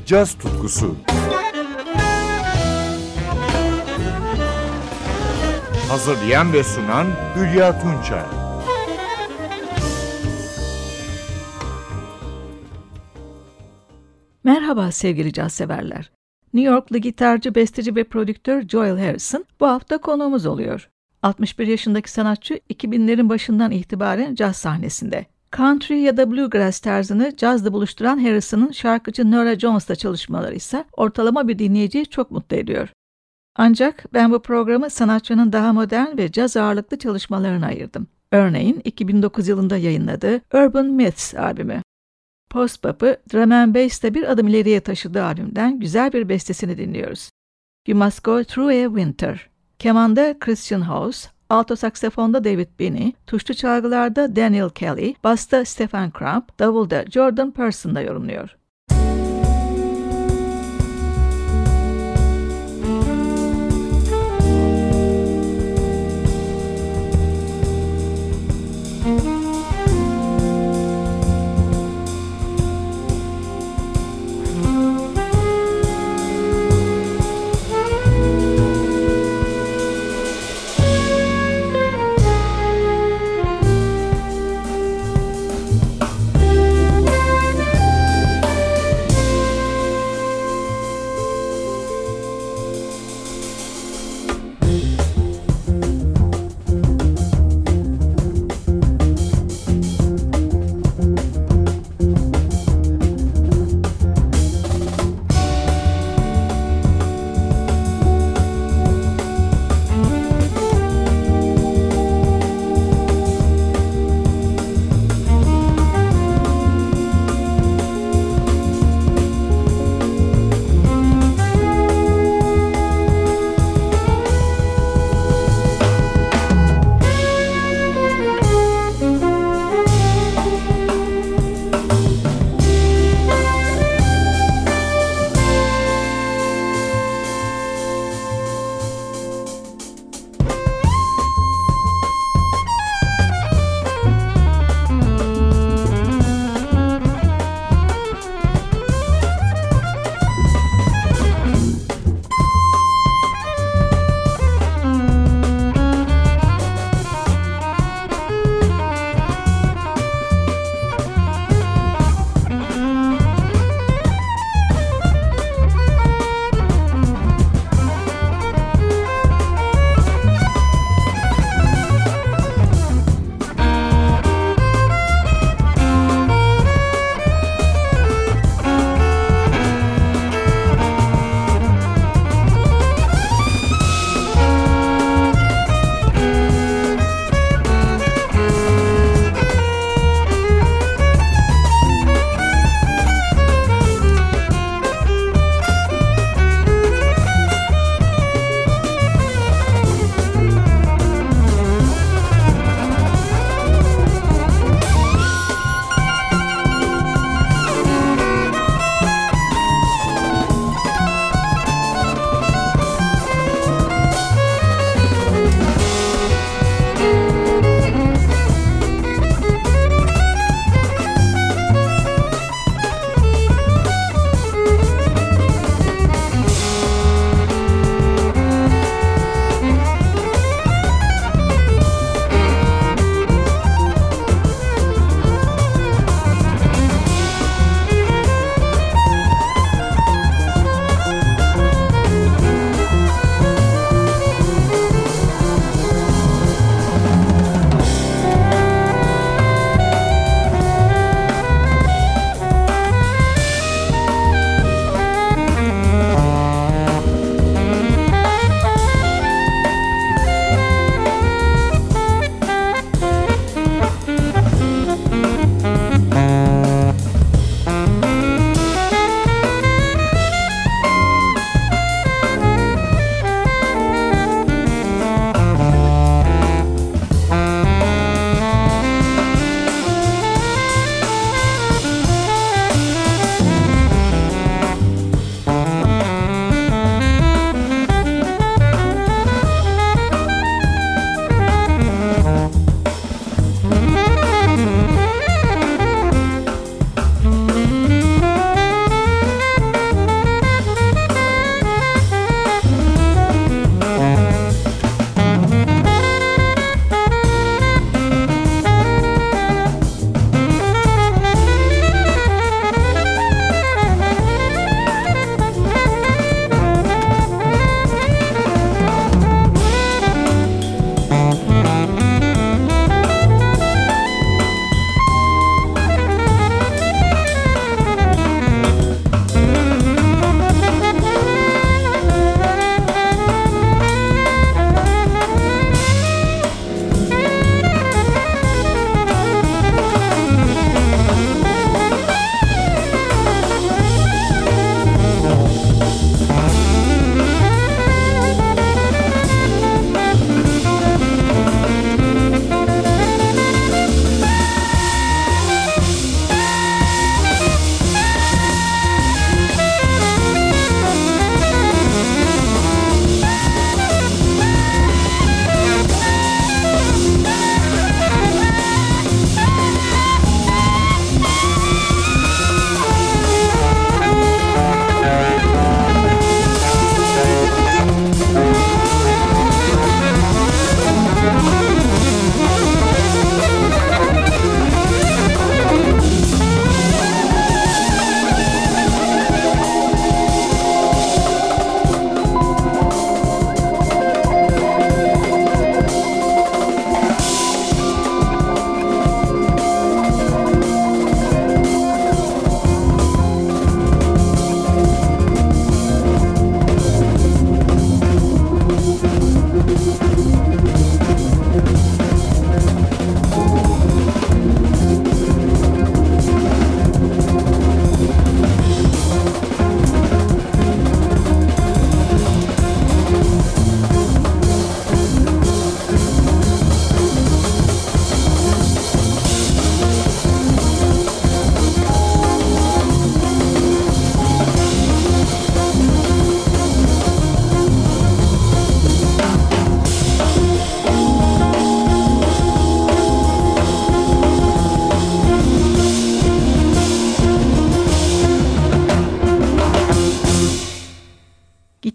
caz tutkusu. Hazırlayan ve sunan Hülya Tunçay. Merhaba sevgili caz severler. New Yorklu gitarcı, besteci ve prodüktör Joel Harrison bu hafta konuğumuz oluyor. 61 yaşındaki sanatçı 2000'lerin başından itibaren caz sahnesinde. Country ya da bluegrass tarzını cazla buluşturan Harrison'ın şarkıcı Norah Jones'la çalışmaları ise ortalama bir dinleyiciyi çok mutlu ediyor. Ancak ben bu programı sanatçının daha modern ve caz ağırlıklı çalışmalarına ayırdım. Örneğin 2009 yılında yayınladığı Urban Myths albümü. Post-bop'ı drum and bass'te bir adım ileriye taşıdığı albümden güzel bir bestesini dinliyoruz. You Must Go Through a Winter. Kemanda Christian House, alto saksafonda David Binney, tuşlu çalgılarda Daniel Kelly, basta Stephen Crump, davulda Jordan Pearson'da yorumluyor.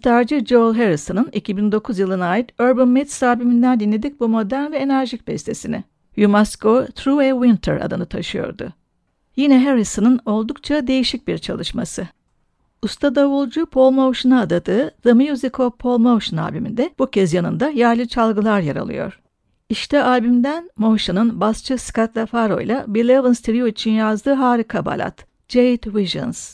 Gitarcı Joel Harrison'ın 2009 yılına ait Urban Myths albümünden dinledik bu modern ve enerjik bestesini. You Must Go Through a Winter adını taşıyordu. Yine Harrison'ın oldukça değişik bir çalışması. Usta davulcu Paul Motion'a adadığı The Music of Paul Motion albümünde bu kez yanında yerli çalgılar yer alıyor. İşte albümden Motion'ın basçı Scott LaFaro ile Bill Evans Trio için yazdığı harika balat, Jade Visions.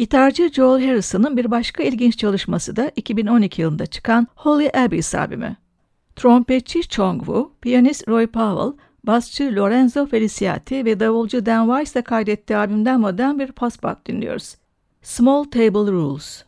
Gitarcı Joel Harrison'ın bir başka ilginç çalışması da 2012 yılında çıkan Holy Abyss albümü. Trompetçi Chong Woo, piyanist Roy Powell, basçı Lorenzo Feliciati ve davulcu Dan Weiss de kaydettiği albümden modern bir post-bop dinliyoruz. Small Table Rules.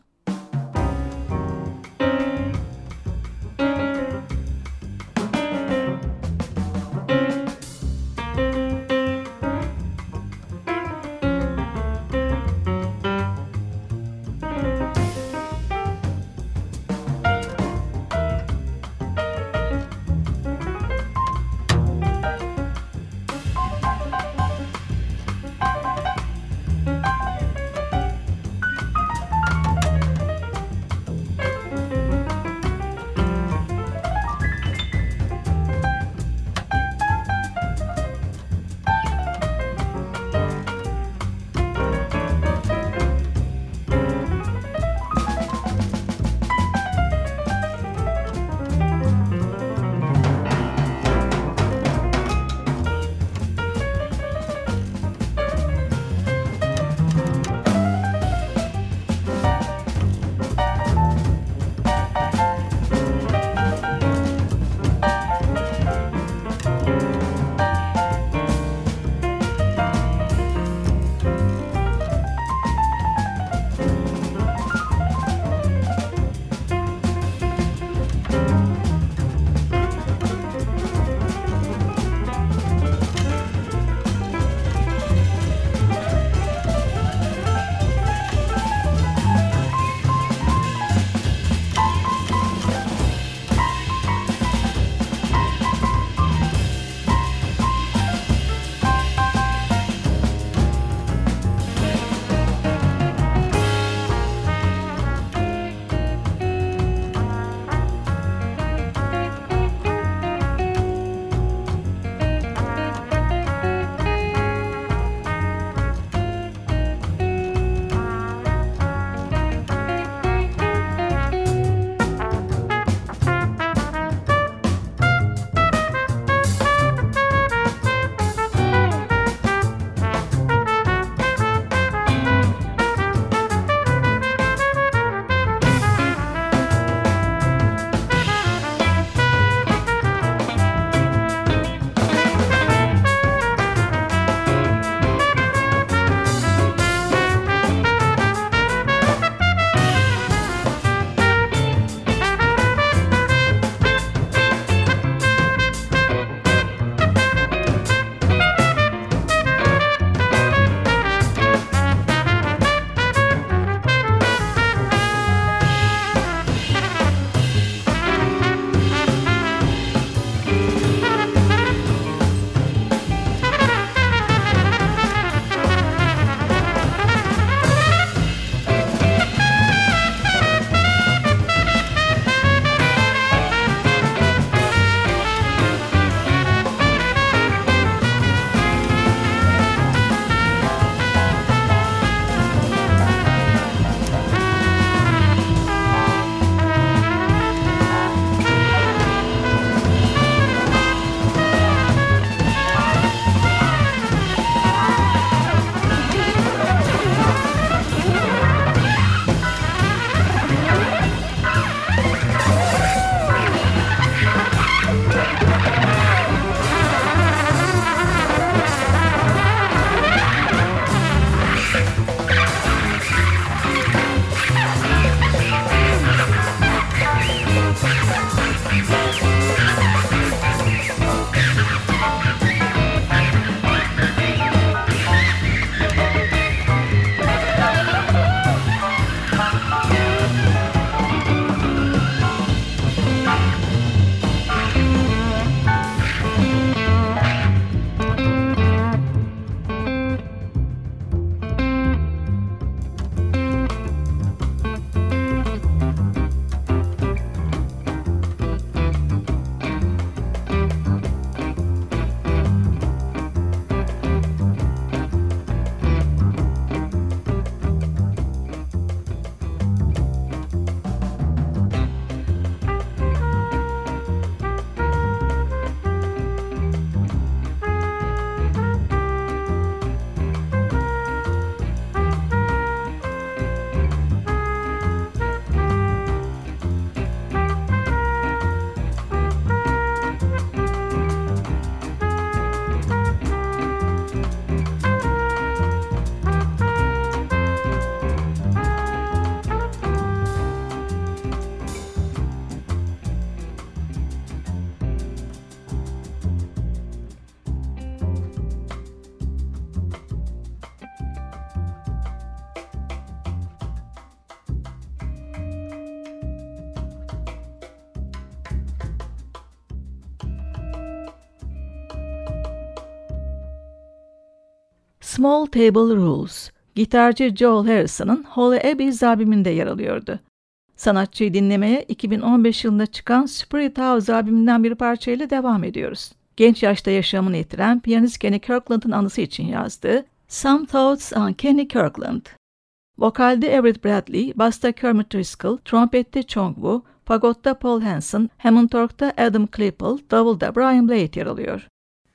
Small Table Rules, gitarcı Joel Harrison'ın Holy Abyss albümünde yer alıyordu. Sanatçıyı dinlemeye 2015 yılında çıkan Spirit House albümünden bir parçayla devam ediyoruz. Genç yaşta yaşamını yitiren piyanist Kenny Kirkland'ın anısı için yazdığı Some Thoughts on Kenny Kirkland. Vokalde Everett Bradley, basta Kermit Driscoll, trompette Chong Wu, fagotta Paul Hanson, Hammond org'da Adam Klippel, davulda Brian Blade yer alıyor.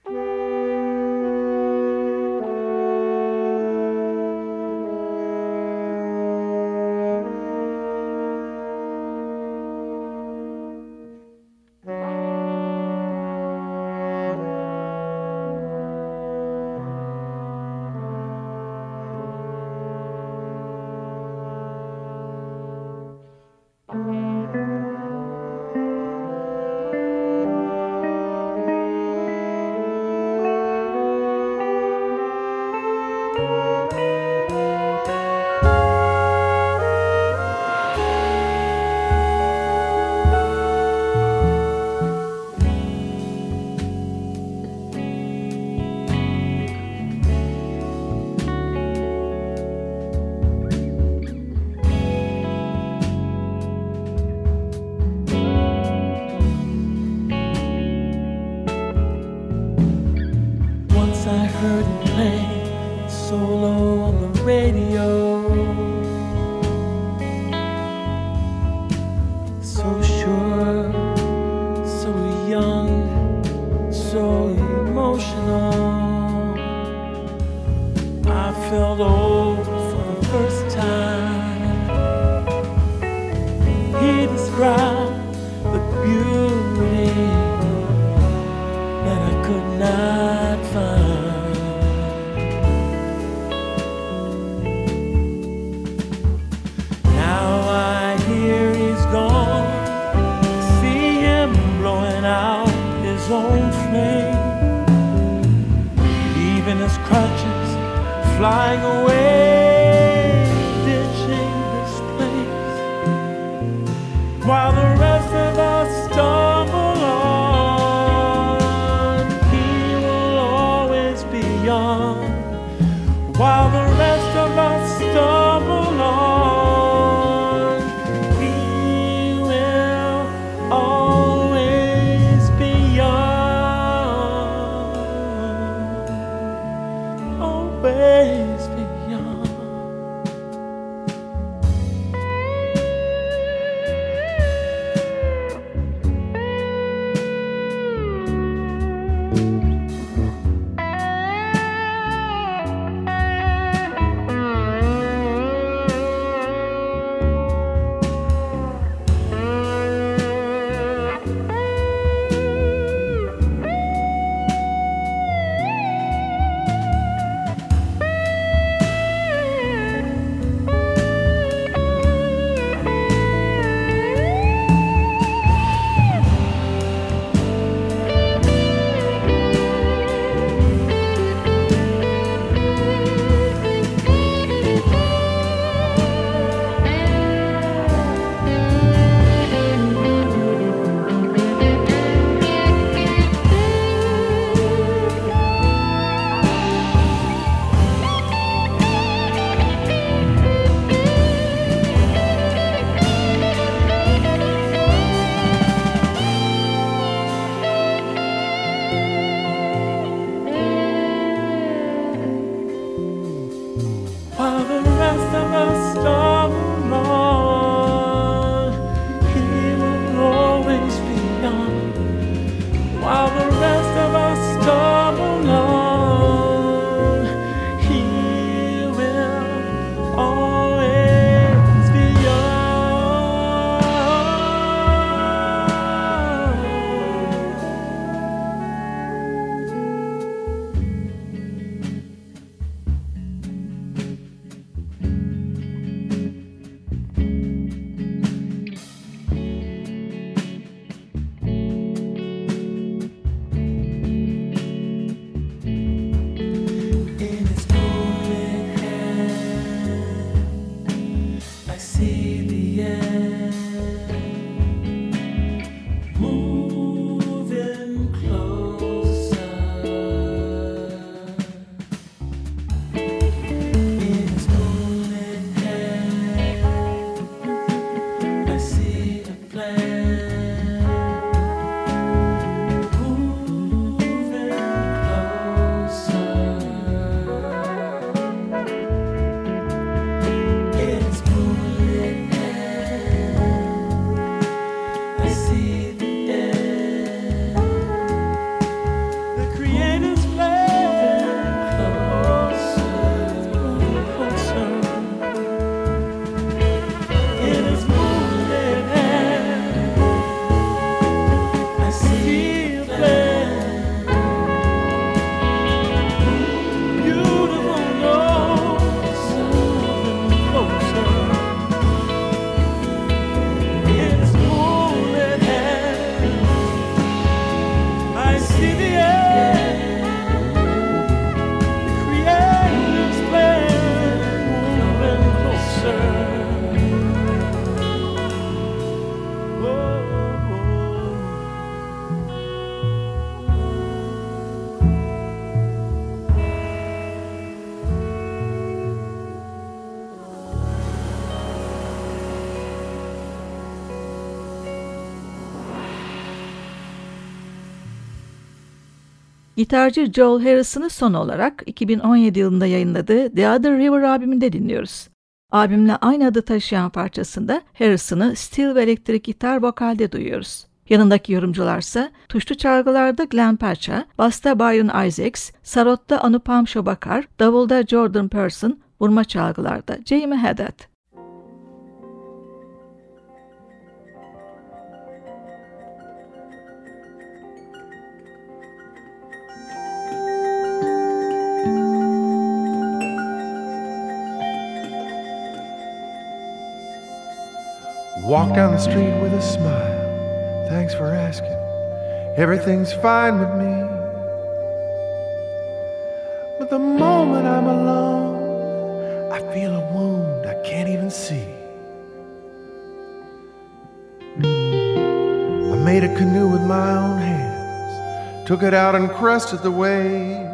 I heard him play solo on the radio. So sure, so young, so emotional. I felt old for the first time. He described the beauty that I could not find. Own flame, leaving his crutches, flying away, ditching this place, while the rest of us stumble on. He will always be young, while the rest of us stumble on. He will always be young. Always be young. While the rest of us stumble on, he will always be young. While the rest of us stumble on, he will always be young. Gitarcı Joel Harrison'ı son olarak 2017 yılında yayınladığı The Other River albümünde dinliyoruz. Albümle aynı adı taşıyan parçasında Harrison'ı steel ve elektrik gitar vokalde duyuyoruz. Yanındaki yorumcularsa tuşlu çalgılarda Glenn Pacha, basta Byron Isaacs, sarotta Anupam Shobakar, davulda Jordan Person, vurma çalgılarda Jamie Haddad. Walk down the street with a smile. Thanks for asking. Everything's fine with me. But the moment I'm alone, I feel a wound I can't even see. I made a canoe with my own hands, took it out and crested the waves.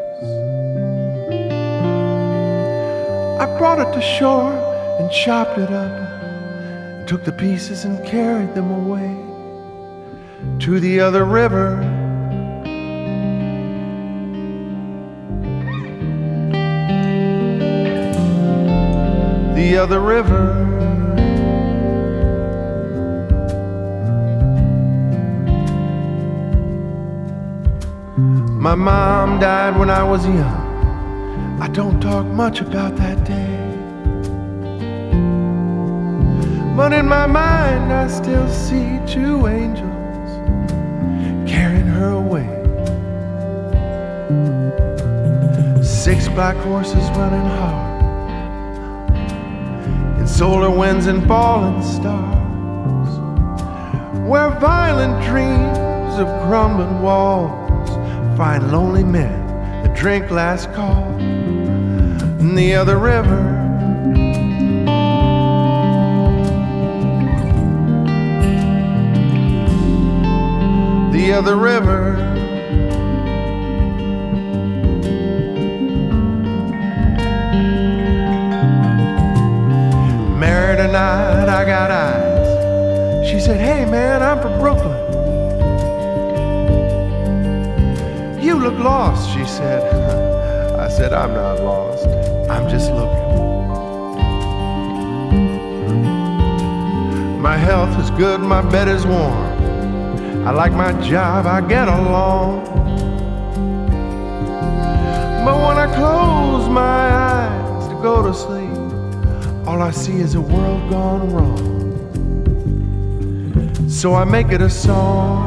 I brought it to shore and chopped it up, took the pieces and carried them away to the other river. The other river. My mom died when I was young. I don't talk much about that day, but in my mind I still see two angels carrying her away. 6 black horses running hard in solar winds and falling stars, where violent dreams of crumbling walls find lonely men that drink last call in the other river. The other river. Married tonight, I got eyes. She said, hey man, I'm from Brooklyn. You look lost, she said. I said, I'm not lost, I'm just looking. My health is good, my bed is warm, I like my job, I get along. But when I close my eyes to go to sleep, all I see is a world gone wrong. So I make it a song.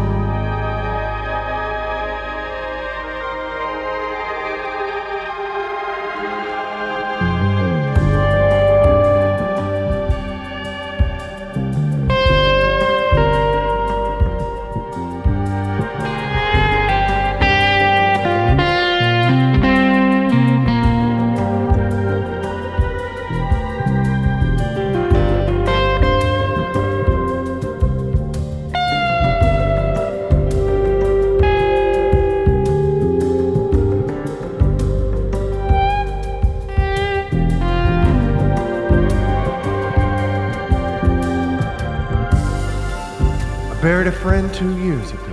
Buried a friend 2 years ago.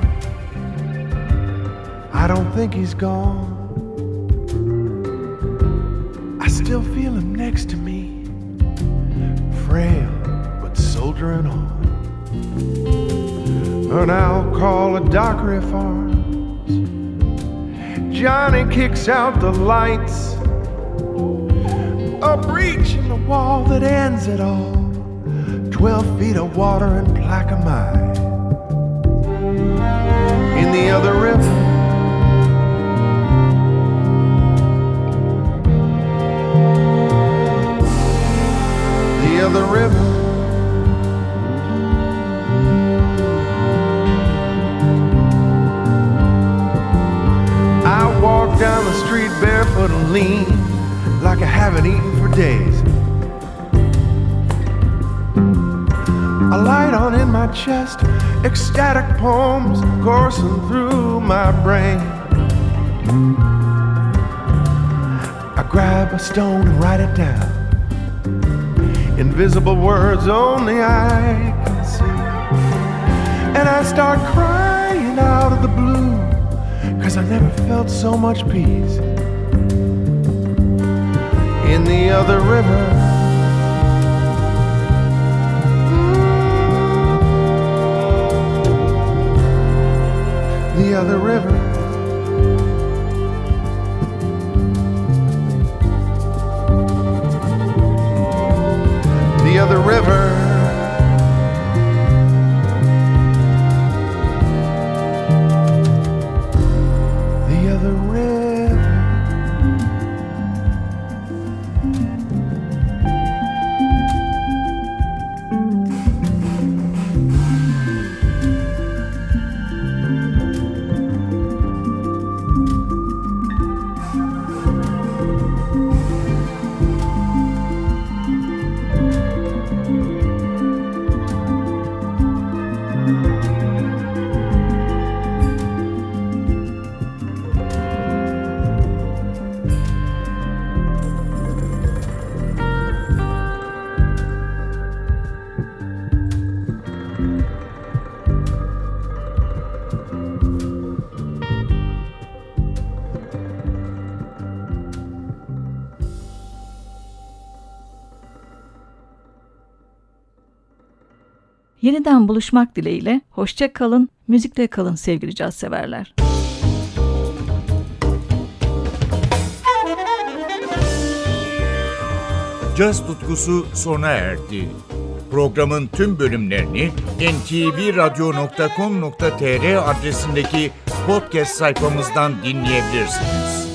I don't think he's gone. I still feel him next to me, frail but soldiering on. And I'll call a doctor if arms. Johnny kicks out the lights, a breach in the wall that ends it all. 12 feet of water and plaquemine. In the other river. The other river. I walk down the street barefoot and lean like I haven't eaten for days. A light on in my chest, ecstatic poems coursing through my brain. I grab a stone and write it down, invisible words only I can see. And I start crying out of the blue, 'cause 'cause I never felt so much peace in the other river. The other river. The other river. The other river. Yeniden buluşmak dileğiyle hoşça kalın, müzikle kalın sevgili caz severler. Caz tutkusu sona erdi. Programın tüm bölümlerini ntvradio.com.tr adresindeki podcast sayfamızdan dinleyebilirsiniz.